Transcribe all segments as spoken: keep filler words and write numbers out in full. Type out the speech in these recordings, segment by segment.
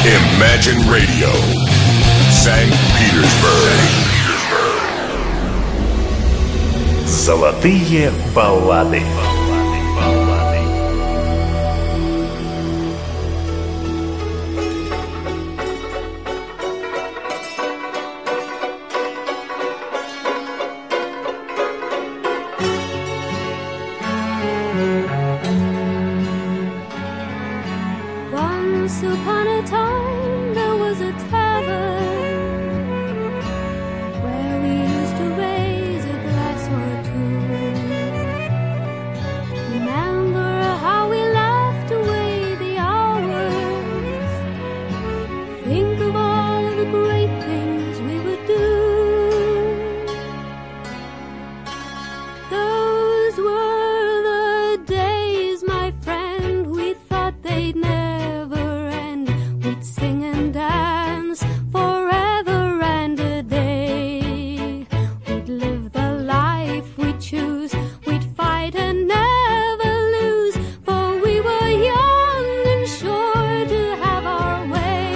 Imagine Radio, Санкт-Петербург. Золотые баллады. Once upon a time there was a tavern where we used to raise a glass or two. Remember how we laughed away the hours. Think of all the great things we would do. Those were the days, my friend, we thought they'd never sing and dance forever and a day. We'd live the life we'd choose. We'd fight and never lose, for we were young and sure to have our way.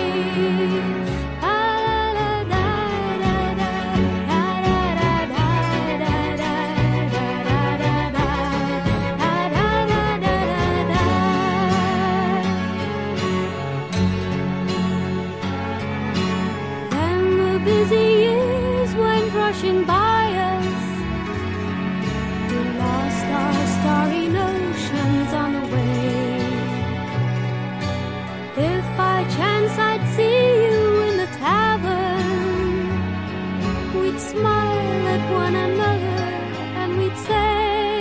Busy years went rushing by us. We lost our starry notions on the way. If by chance I'd see you in the tavern, we'd smile at one another and we'd say,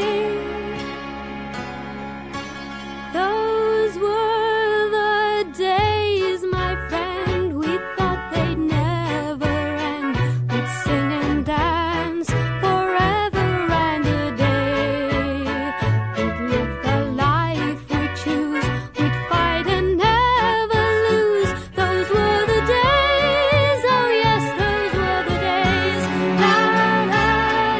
those were the days, my friend, we thought they'd never sing and dance forever and a day. We'd live the life we choose. We'd fight and never lose. Those were the days. Oh yes, those were the days. La la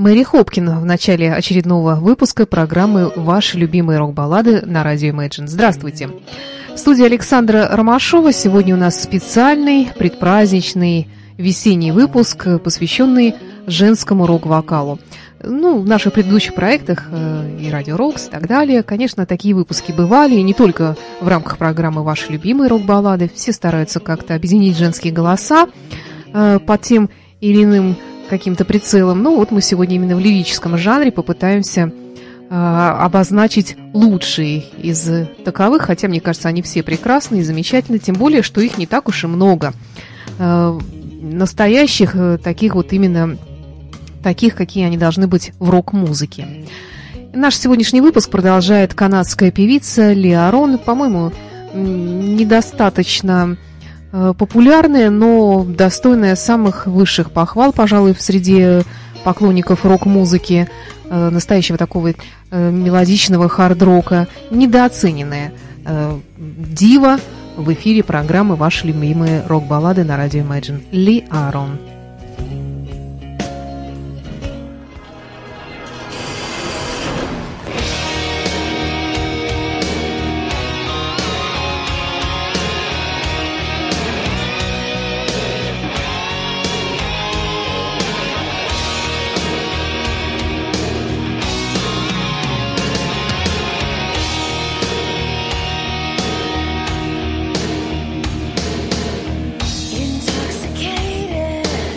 Мэри Хопкин в начале очередного выпуска программы «Ваши любимые рок-баллады» на радио Imagine. Здравствуйте! В студии Александра Ромашова. Сегодня у нас специальный, предпраздничный, весенний выпуск, посвященный женскому рок-вокалу. Ну, в наших предыдущих проектах э, и Радио Рокс и так далее, конечно, такие выпуски бывали, и не только в рамках программы «Ваши любимые рок-баллады». Все стараются как-то объединить женские голоса э, под тем или иным каким-то прицелом. Ну, вот мы сегодня именно в лирическом жанре попытаемся э, обозначить лучшие из таковых, хотя, мне кажется, они все прекрасны и замечательны, тем более, что их не так уж и много. Э, настоящих, э, таких вот именно таких, какие они должны быть в рок-музыке. Наш сегодняшний выпуск продолжает канадская певица Ли Арон, по-моему, недостаточно популярная, но достойная самых высших похвал, пожалуй, среди поклонников рок-музыки, настоящего такого мелодичного хард-рока, недооцененная дива в эфире программы «Ваши любимые рок-баллады» на радио Imagine. Ли Арон. Intoxicated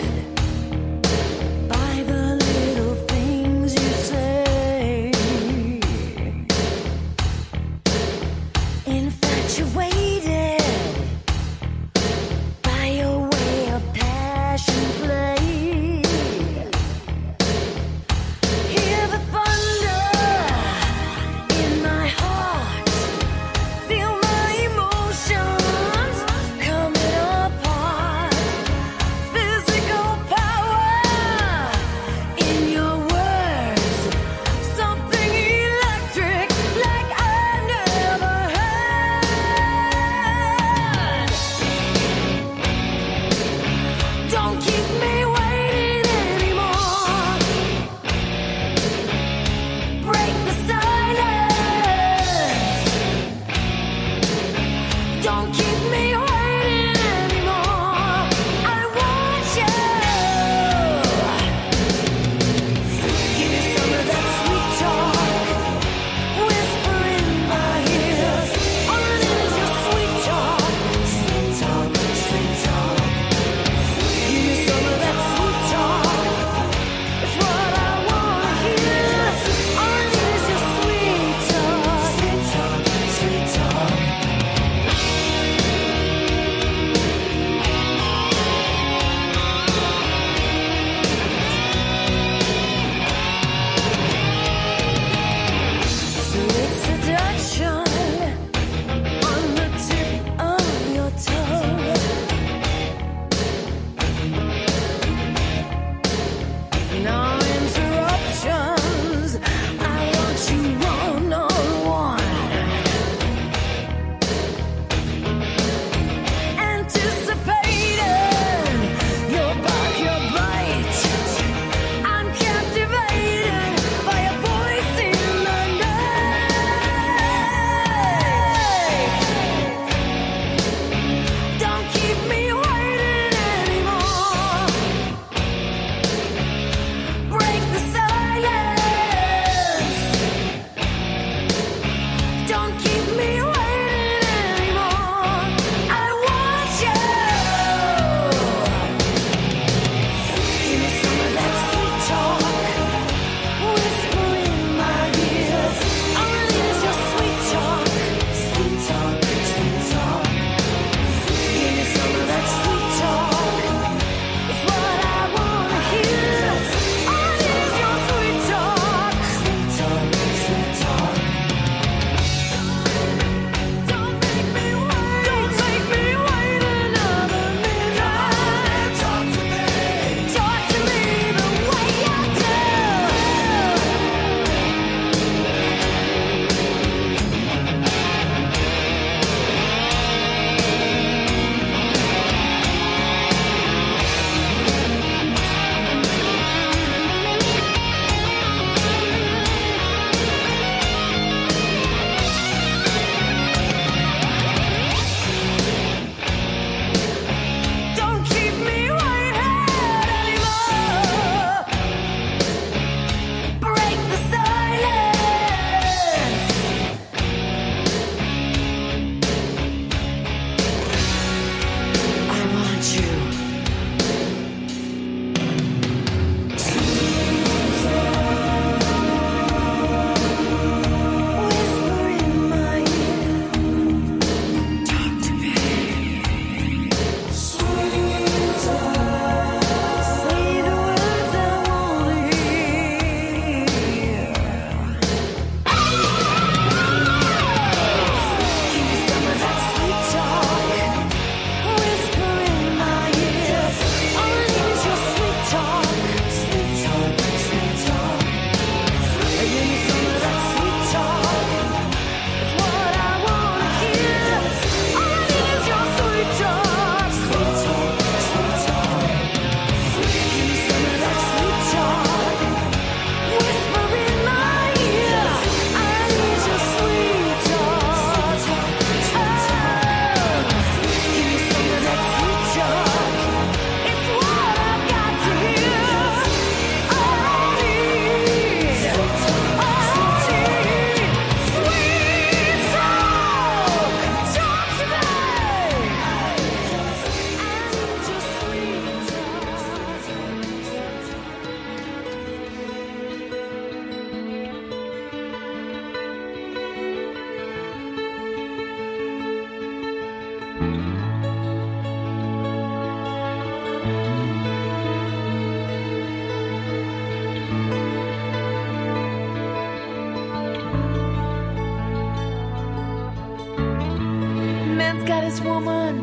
woman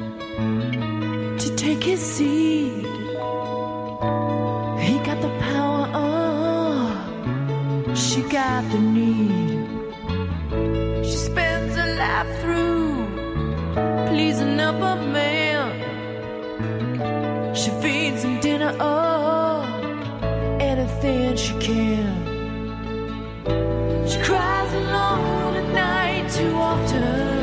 to take his seat. He got the power, oh, she got the need. She spends her life through pleasing up a man. She feeds him dinner, oh, anything she can. She cries alone at night too often.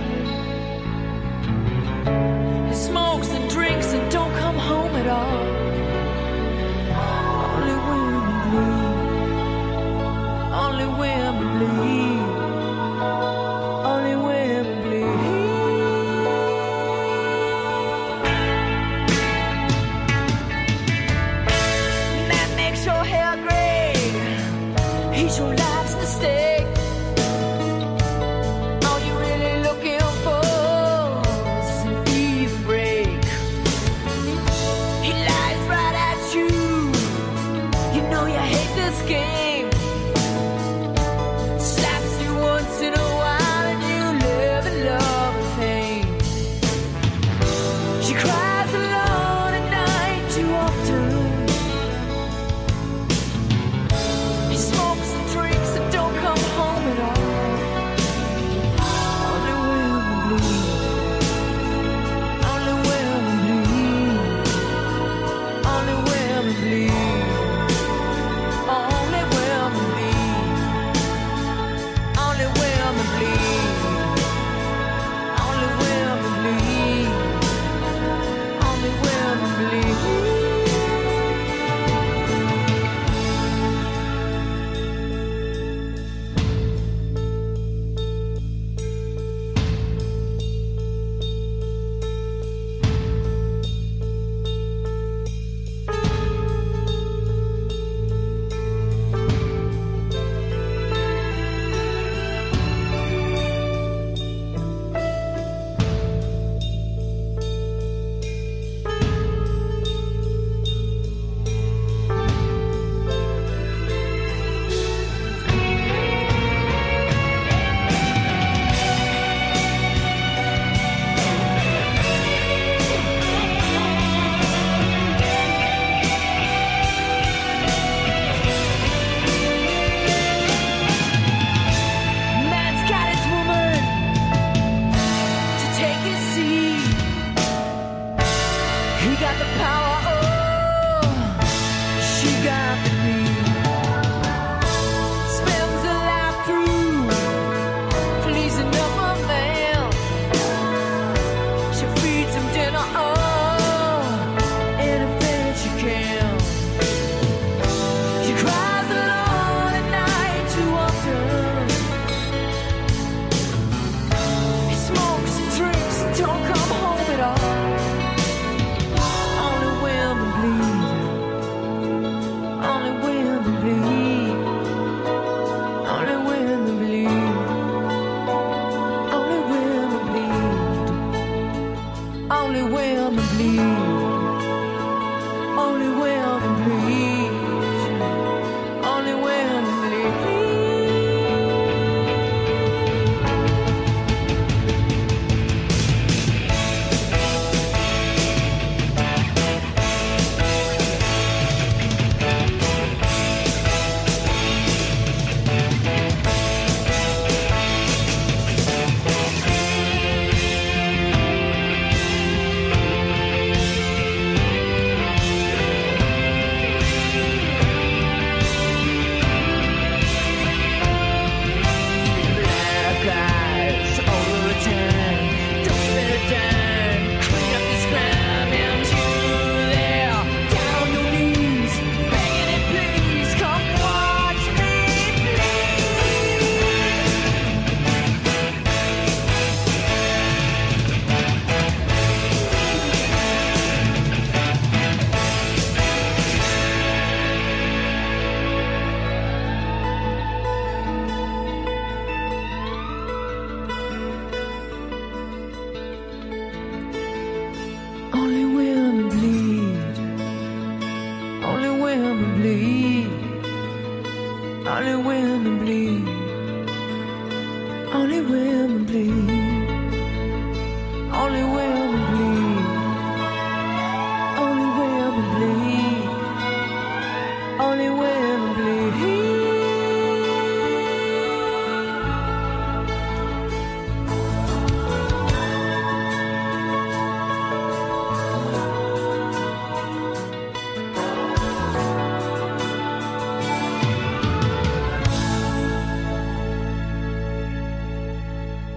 He smokes and drinks and don't come home at all. Only women bleed. Only women bleed. Only women bleed. Man makes your hair gray. He's your life's mistake. All you're really looking for is an even break. He lies right at you. You know you hate this game. Slaps you once in a while and you live in love and pain. She cries alone at night too often. He smokes and drinks and don't come home at all. Only women bleed. Only women bleed. Only women bleed. Only women bleed. Only women bleed. Only women bleed. Only women bleed. Man's got his woman to take his seat. He got the power, oh, she got the need. Spends her life through pleasing up a man. She feeds him dinner, oh, anything she can. She cries alone at night too often. He smokes and drinks and don't come home at all. Only women bleed. Only women bleed. Only women bleed. Only women bleed. Only women bleed. Only women bleed. Only women bleed.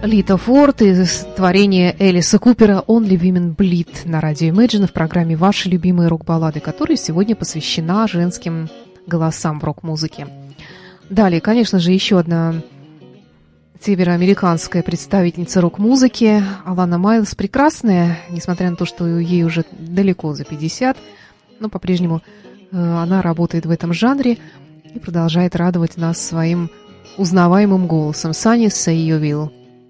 Лита Форд из творения Элиса Купера «Only Women Bleed» на радио Imagine в программе «Ваши любимые рок-баллады», которая сегодня посвящена женским голосам в рок-музыке. Далее, конечно же, еще одна североамериканская представительница рок-музыки Алана Майлз, прекрасная, несмотря на то, что ей уже далеко за пятьдесят, но по-прежнему э, она работает в этом жанре и продолжает радовать нас своим узнаваемым голосом. Sunny Say You Will.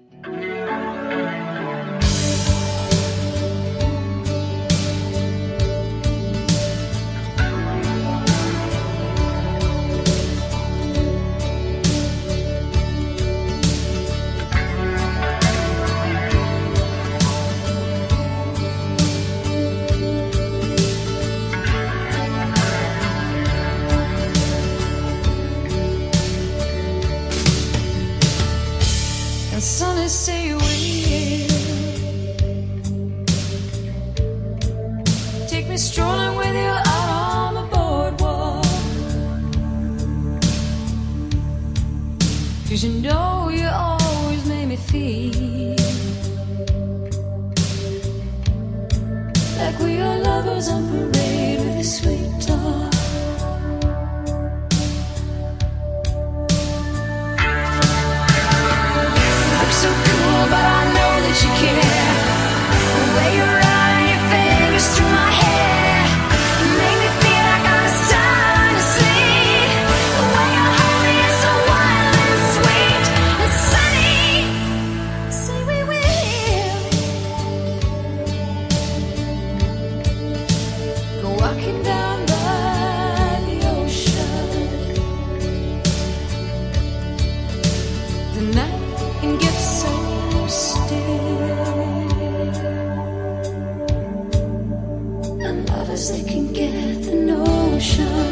Sunny, say you will take me strolling with you out on the boardwalk, 'cause you know you always make me feel like we are lovers on parade with a sweet talk. So cool, but I know that you care. The way you run your fingers through my hair, you make me feel like I'm starting to sleep. The way you hold me is so wild and sweet. And sunny, say we will go walking down by the ocean. The night can get so still, and lovers, they can get the notion.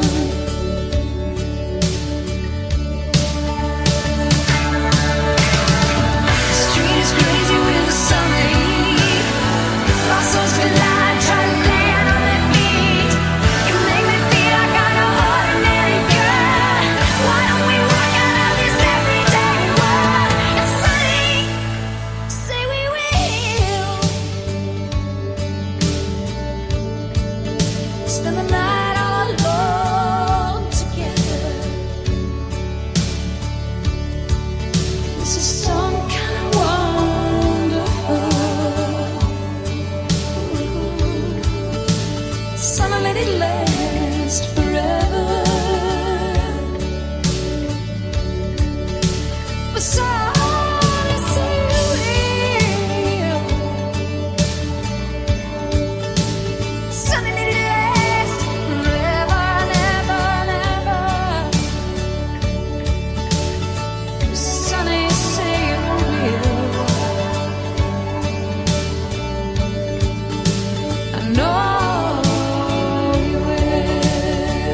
The street is crazy with the summer heat. My soul's collide, try to land on their feet. You make me feel like I'm no ordinary girl. Why don't we work out of this everyday world? It's sunny, say we will spend the night all alone together. This is some kind of wonderful. Summer, let it last forever. But sunny, say you will. Sunny, let it last forever, never, never. Sunny, say you will. I know you will.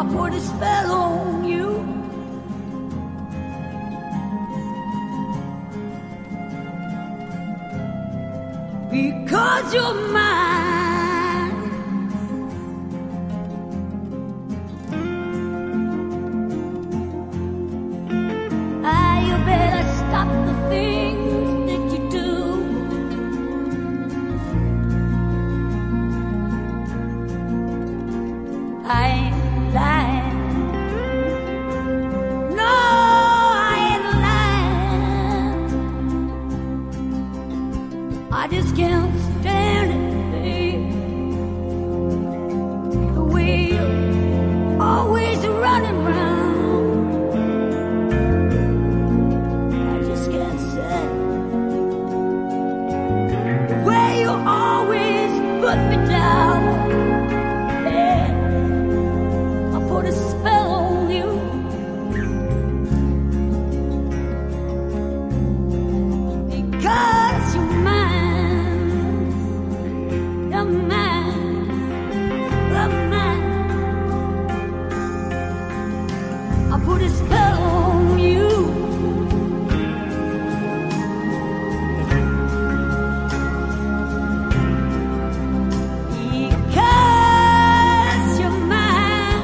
I put a spell on you. Because you're mine. Ah, you better stop the things that you do. I ain't lying. No, I ain't lying. I just can't stand it, babe. The way you're always running round. I just can't stand it. The way you always put me down. Yeah. I put a spell on you. Because you're mine. You're mine. You're mine. I put a spell on you. Because you're mine.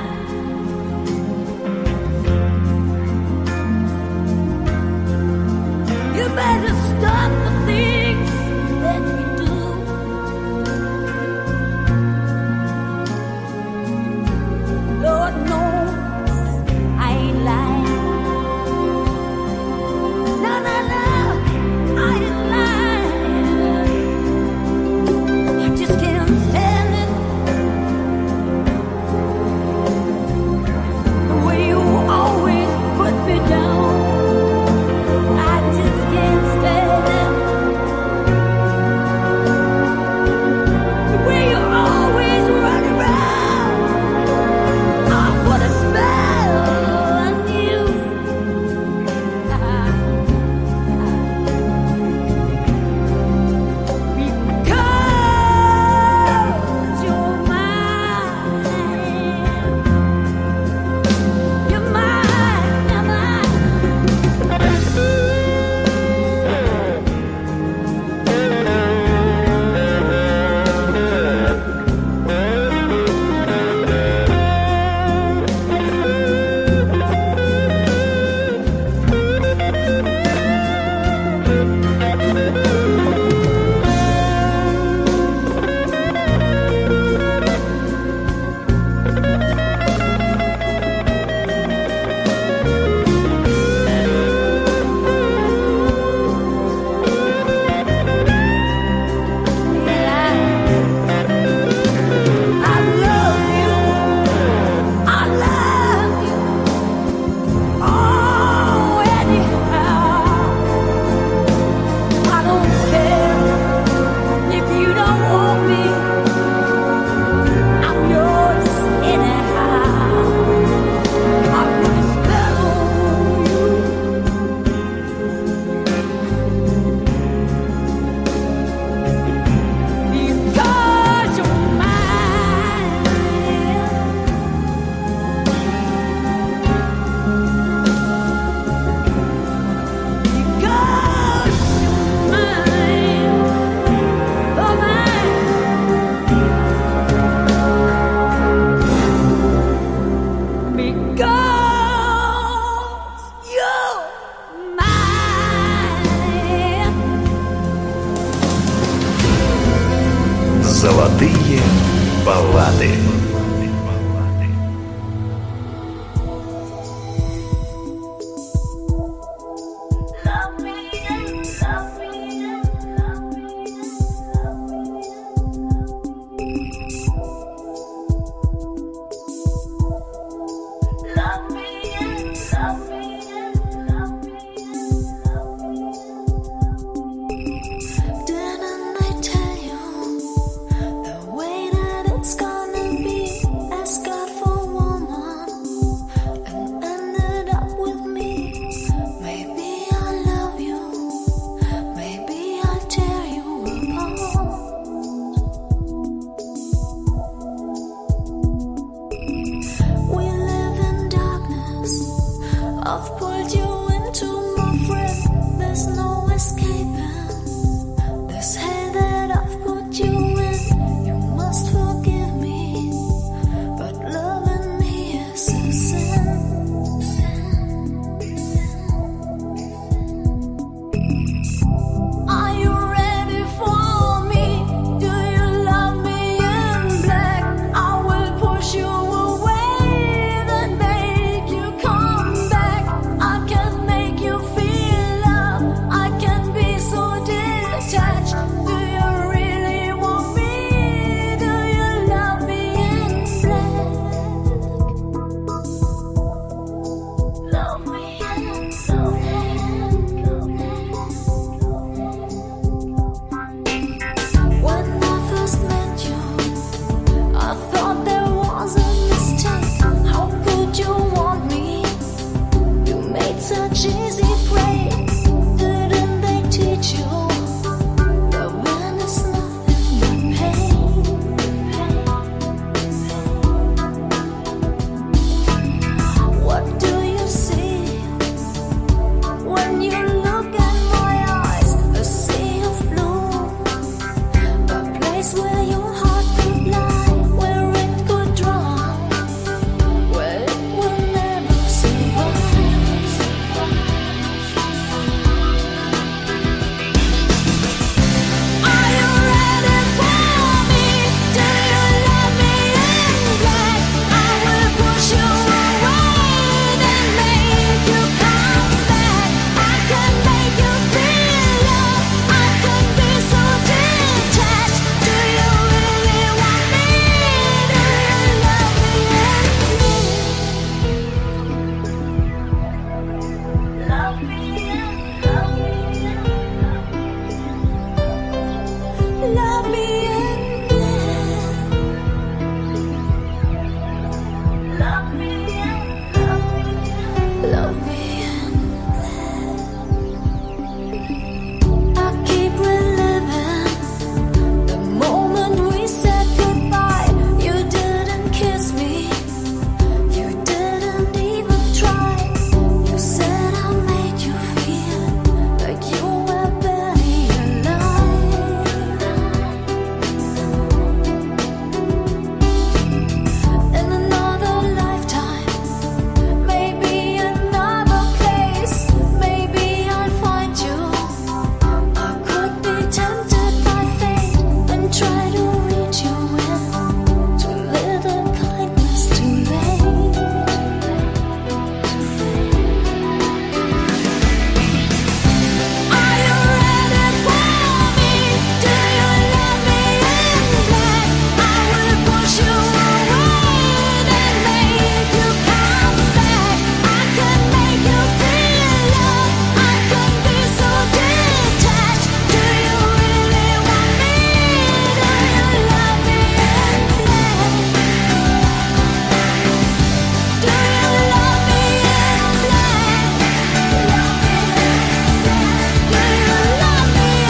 You better stop the things that you do. Lord knows I ain't lying. No, no, no, I ain't lying. I just can't stand it. The way you always put me down. I just can't stand it. The way you always run around. I put a spell on you. Because you're mine. You're mine, you're mine. I love you. I love you. Oh, anyhow. I don't care if you don't want me. I'm yours anyhow. I put a spell on you. Because you're mine. Because you're mine. Oh, mine. Because you're mine. Золотые баллады. Love me, love me, love me, love me. Love me, love me, love me, love me. Didn't I tell you the way that it's gonna be? Ask God for a woman and ended up with me. Maybe I'll love you, maybe I'll tear you apart. We live I've pulled you into my friend. There's no escaping this hell that I've put you in. You must forgive me, but loving me is a sin. Are you ready for me? Do you love me in black? I will push you away, then make you come back. I can make you feel love. I can be so detached. Do you really want me? Do you love me in black? Love me in, love me in. When I first met you, I thought there was a mistake. How could you want me? You made such easy prey. Didn't they teach you that when it's nothing but pain? What do you see when you look at my eyes? A sea of blue, a place where your heart could lie, where it could dry, where it will never survive. Are you ready for me? Do you love me in black? I will push you away, then make you come back. I can make you feel love. I can be so detached. Do you really want me? Do you love me in black? Love me in, love me in, love me in black. Love me in, love me in black. I keep reliving the moment we said goodbye. You didn't kiss me, you didn't even try. You said I made you feel like you were barely alive. In another lifetime, maybe another place, maybe I'll find you. I could be tempted by fate and try to reach you in too little kindness, too late. Are you ready for me? Do you love me in black? I will push you away, then make you come back. I can make you feel love. I can be so detached. Do you really want me? Do you love me in black? Do you love me in black? Love me in black. Do you love me in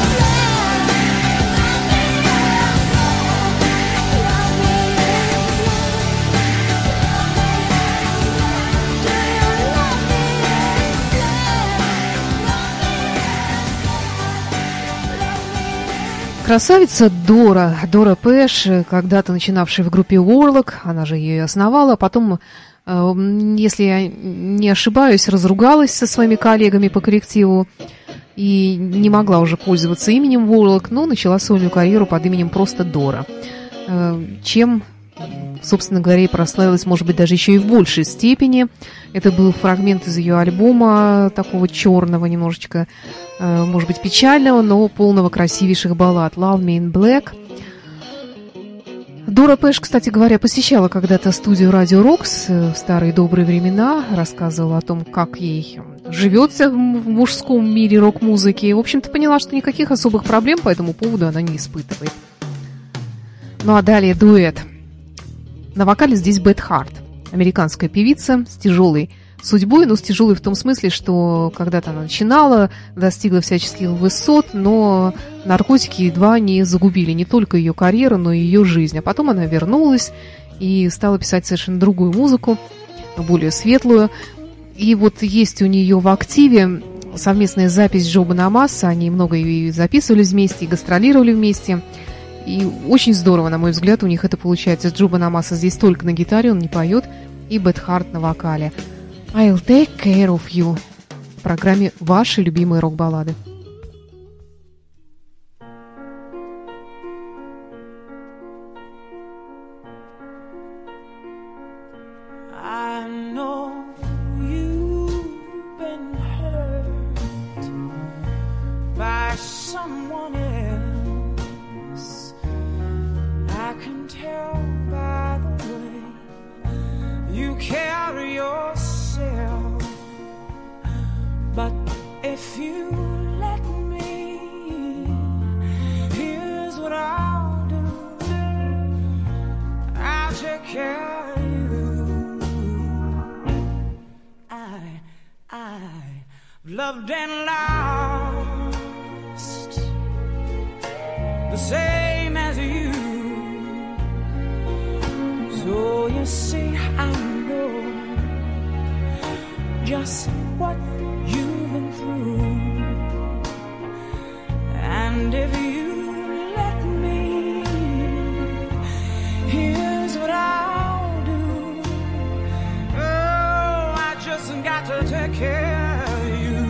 Красавица Дора, Дора Пэш, когда-то начинавшая в группе Warlock, она же ее и основала, потом, э, если я не ошибаюсь, разругалась со своими коллегами по коллективу и не могла уже пользоваться именем Warlock, но начала сольную карьеру под именем просто Дора, э, чем, собственно говоря, и прославилась, может быть, даже еще и в большей степени. Это был фрагмент из ее альбома, такого черного немножечко, э, может быть, печального, но полного красивейших баллад «Love Me in Black». Дора Пэш, кстати говоря, посещала когда-то студию «Радио Рокс» в старые добрые времена, рассказывала о том, как ей живется в мужском мире рок-музыки. И, в общем-то, поняла, что никаких особых проблем по этому поводу она не испытывает. Ну а далее дуэт. На вокале здесь Бет Харт, американская певица с тяжелой судьбой, но с тяжелой в том смысле, что когда-то она начинала, достигла всяческих высот, но наркотики едва не загубили не только ее карьеру, но и ее жизнь. А потом она вернулась и стала писать совершенно другую музыку, более светлую. И вот есть у нее в активе совместная запись Джо Бонамасса. Они много и записывали вместе, и гастролировали вместе. И очень здорово, на мой взгляд, у них это получается. Джо Бонамасса здесь только на гитаре, он не поет, и Бет Харт на вокале. I'll take care of you в программе «Ваши любимые рок-баллады». I know you've been hurt by someone else. I can tell by the way you carry yourself. But if you let me, here's what I'll do. I'll take care of you. I've loved and lost the same as you. So you see, I know just what you've been through. And if you let me, here's what I'll do. Oh, I just got to take care of you.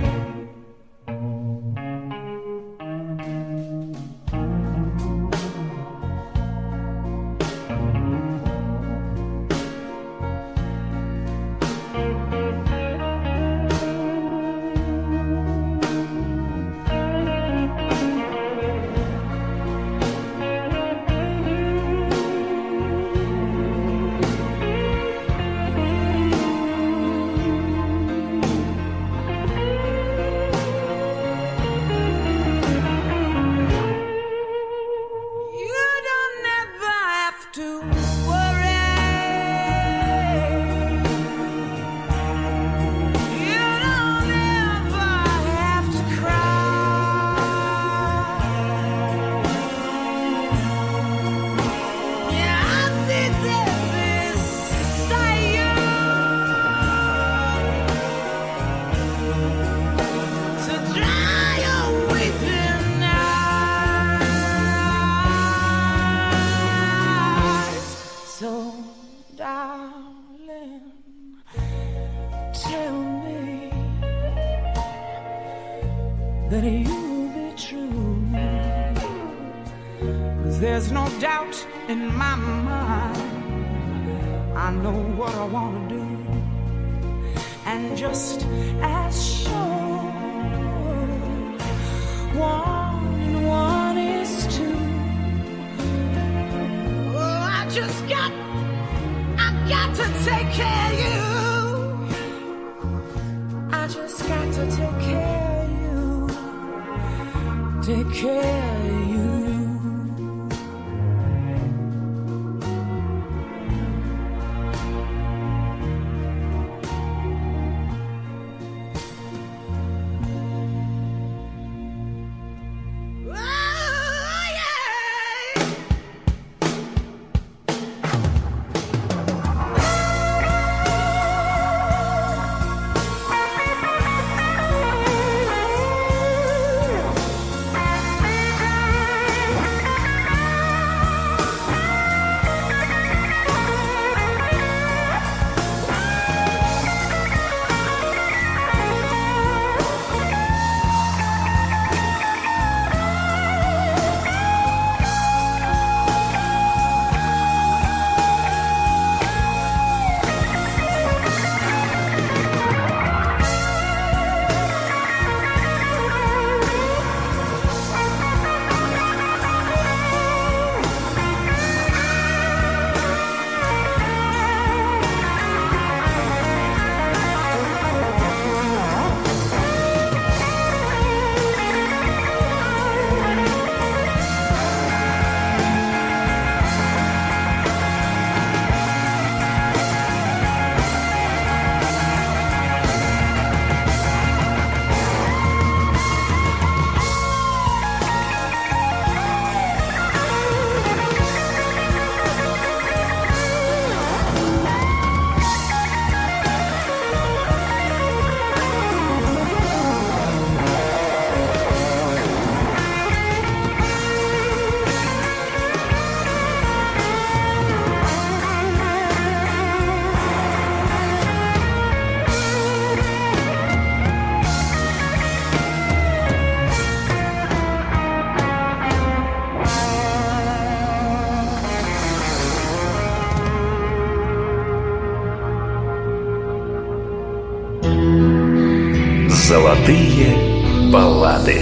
That you'll be true. 'Cause there's no doubt in my mind. I know what I want to do. And just as sure, one and one is two. Oh, I just got, I got to take care of you. I just got to take care of you. Take care of you. Thank Золотые баллады.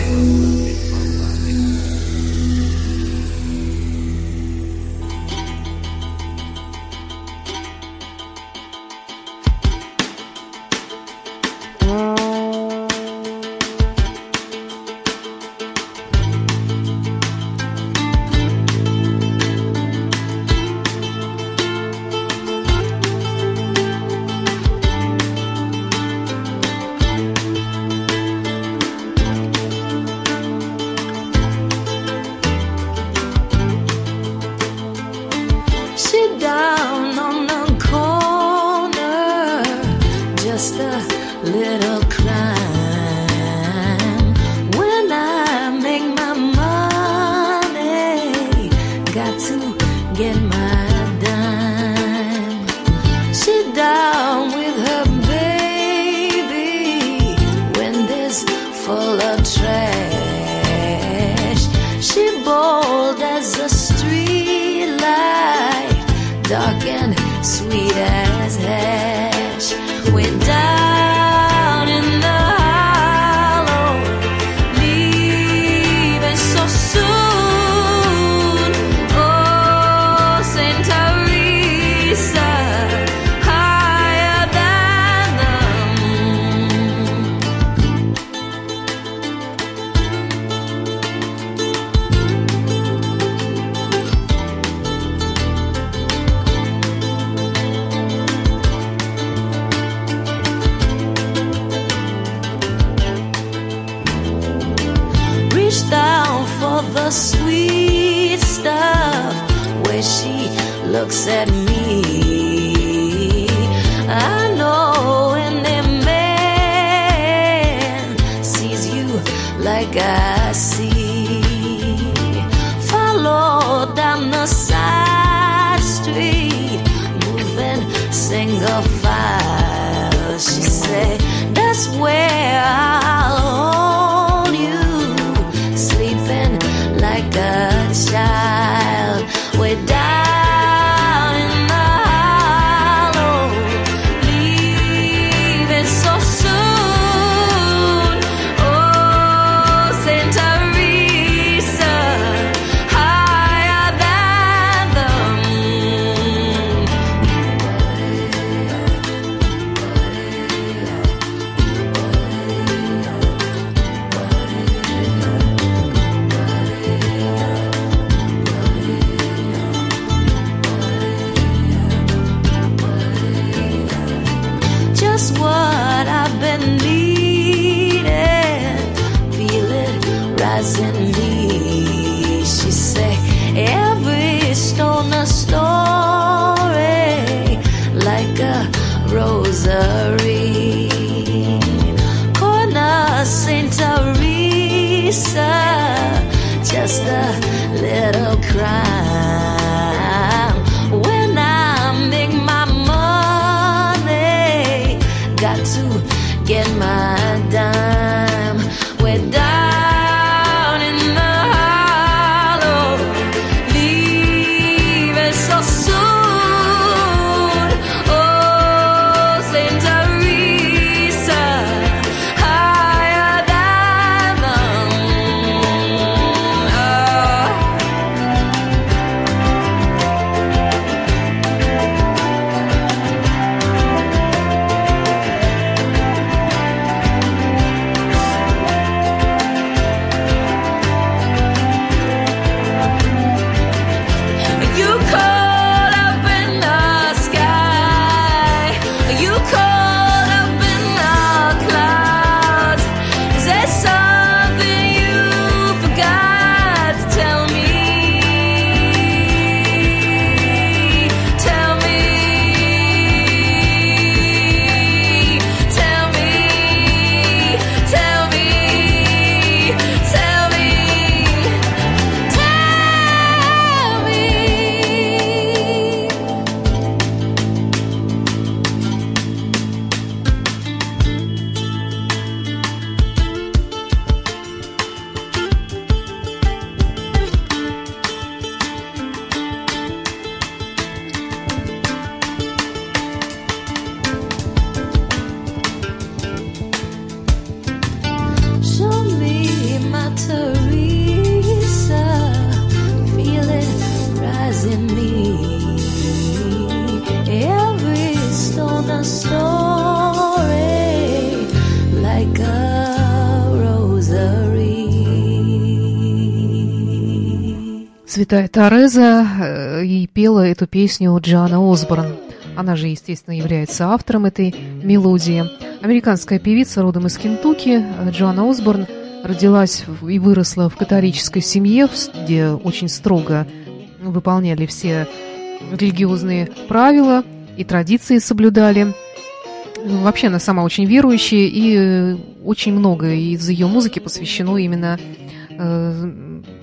Святая Тереза, э, и пела эту песню Джоанна Осборн. Она же, естественно, является автором этой мелодии. Американская певица, родом из Кентукки, Джоанна Осборн родилась и выросла в католической семье, где очень строго выполняли все религиозные правила и традиции соблюдали. Вообще она сама очень верующая, и очень много из ее музыки посвящено именно э,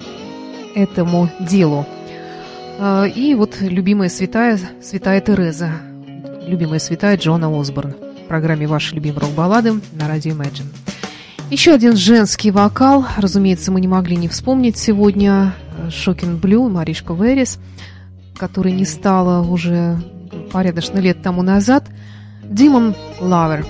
этому делу. И вот любимая святая, святая Тереза, любимая святая Джоанна Осборн в программе «Ваши любимые рок-баллады» на радио Imagine. Еще один женский вокал, разумеется, мы не могли не вспомнить сегодня Shocking Blue, Маришка Верес, которой не стало уже порядочно лет тому назад. Demon Lover.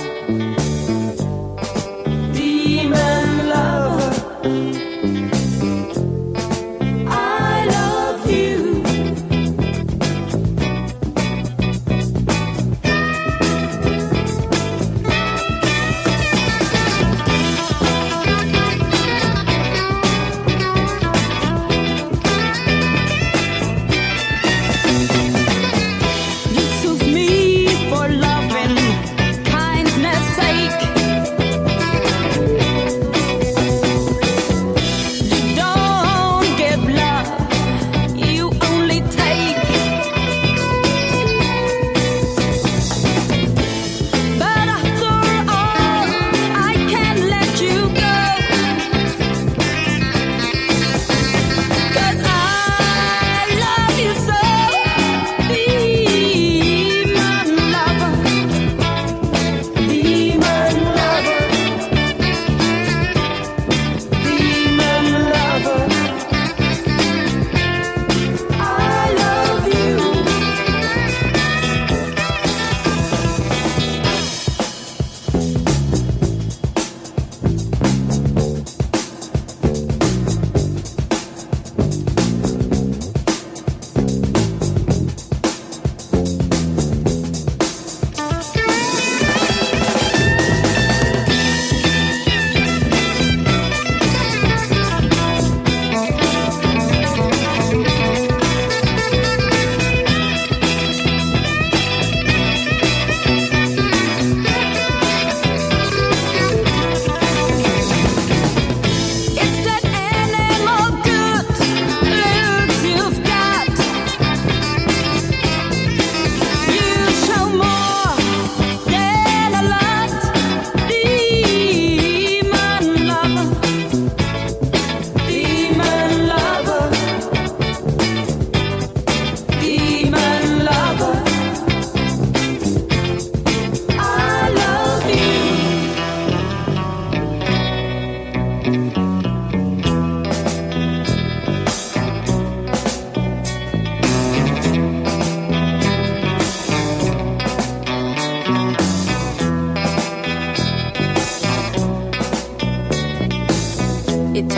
Demon lover.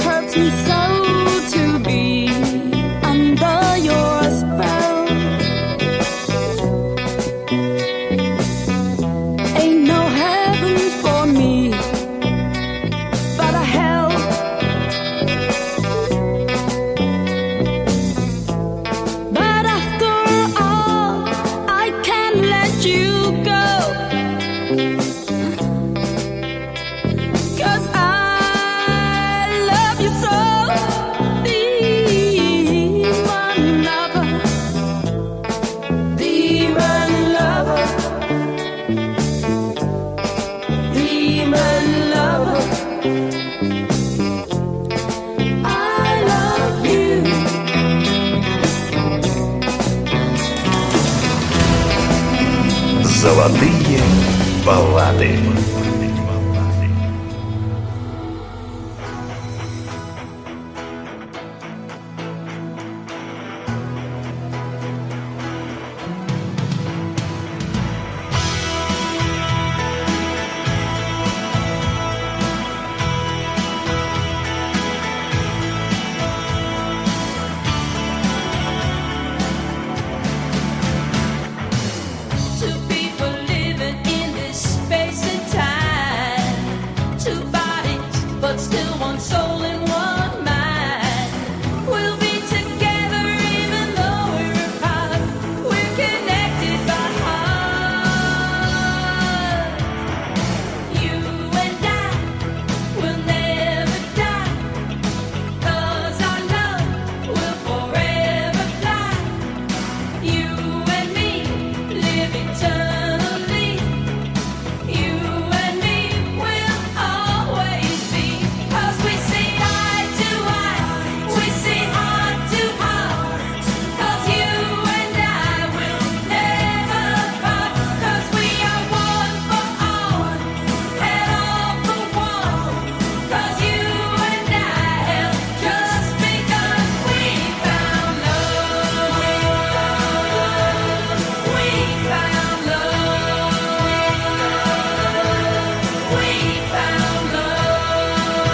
hurts me so to be under your spell. Ain't no heaven for me, but a hell. But after all, I can't let you go, 'cause I love you so. Demon lover, demon lover, demon lover, I love you. Золотые баллады. Two people living in this space and time. Two bodies, but still one soul and one mind. We'll be together even though we're apart. We're connected by heart. You and I will never die, 'cause our love will forever fly. You and me live eternally. You and me will always be, 'cause we see eye to eye, we see heart to heart. 'Cause you and I will never part, 'cause we are one for all and all for one. 'Cause you and I have just begun. We found love. We found love. We found love.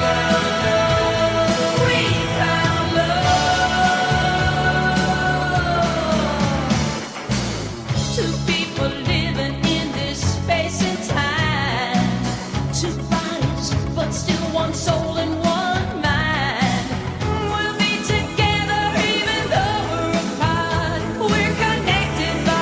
We found love. Two people living in this space and time. Two bodies, but still one soul and one mind. We'll be together even though we're apart. We're connected by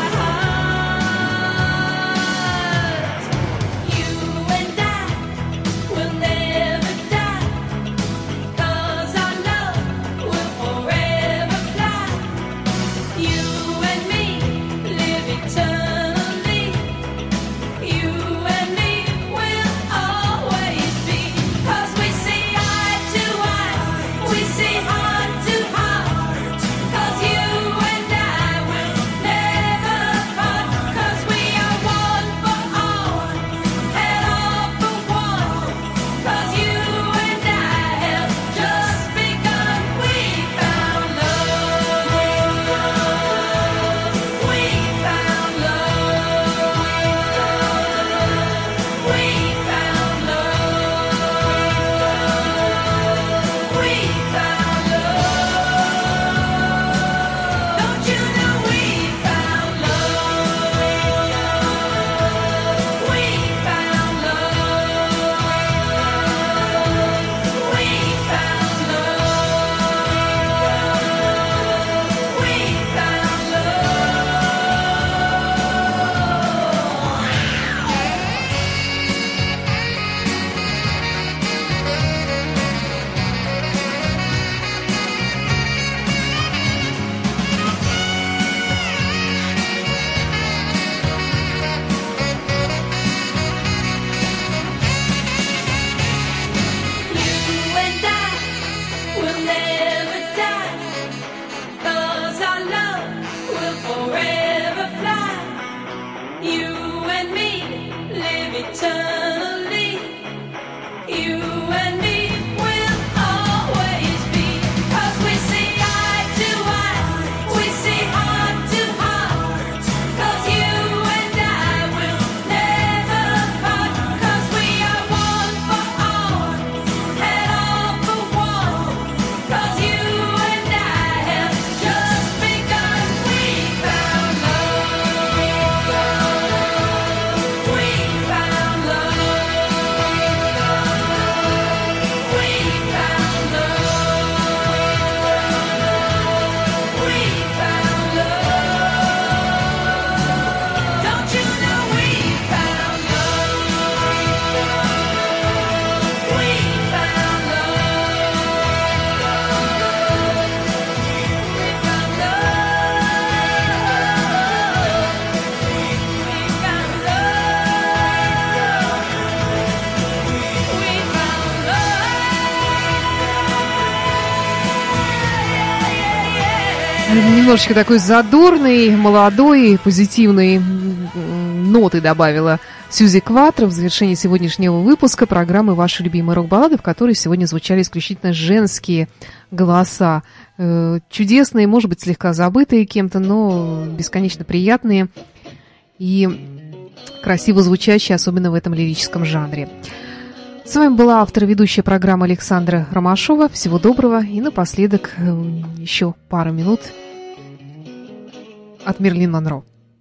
heart. You and I will never die, 'cause our love will forever fly. You and me live eternally. You and me will always be, 'cause we see eye to eye, we see heart to heart. 'Cause you and I will never part, 'cause we are one for all and all for one. 'Cause you and I have just begun. We found love. We found love. We found love. We found love. Немножечко такой задорный, молодой, позитивной ноты добавила Сьюзи Кватро в завершении сегодняшнего выпуска программы «Ваши любимые рок-баллады», в которой сегодня звучали исключительно женские голоса. Чудесные, может быть, слегка забытые кем-то, но бесконечно приятные и красиво звучащие, особенно в этом лирическом жанре. С вами была автор и ведущая программы Александра Ромашова. Всего доброго. И напоследок еще пару минут от Мерлин Монро.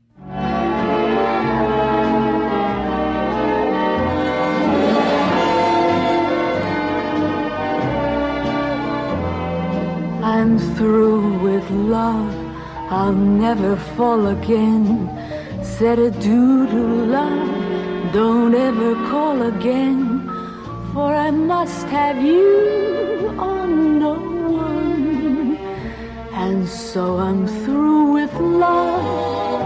I'm through with love, I'll never fall again. Said adieu to love, don't ever call again. For I must have you, oh no one. And so I'm through with love.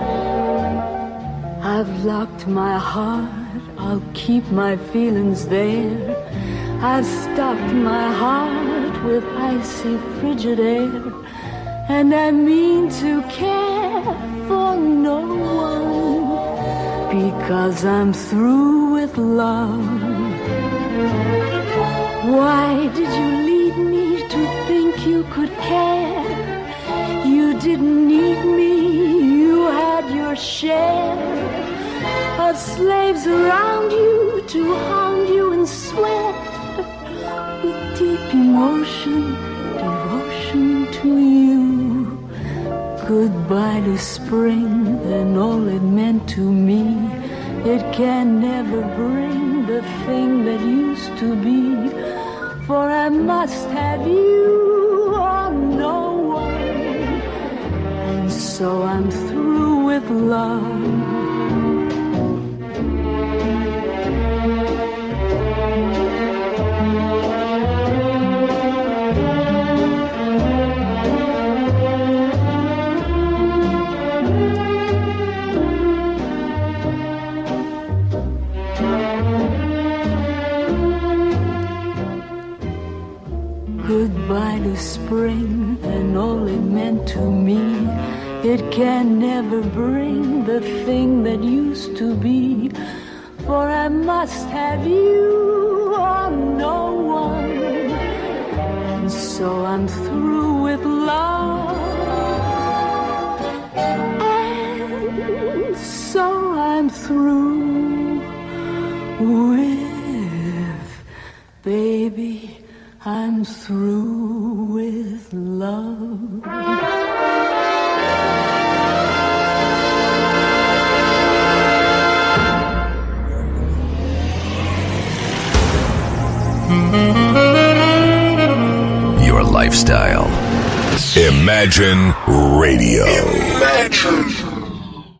I've locked my heart, I'll keep my feelings there. I've stocked my heart with icy frigid air. And I mean to care for no one, because I'm through with love. Why did you lead me to think you could care? You didn't need me, you had your share of slaves around you to hound you and sweat with deep emotion, devotion to you. Goodbye to spring and all it meant to me. It can never bring the thing that used to be. For I must have you, or no one. And so I'm through with love. Goodbye to spring and all it meant to me. It can never bring the thing that used to be. For I must have you, or no one. And so I'm through with love. And so I'm through with, baby, I'm through with love. Your lifestyle. Imagine Radio. Imagine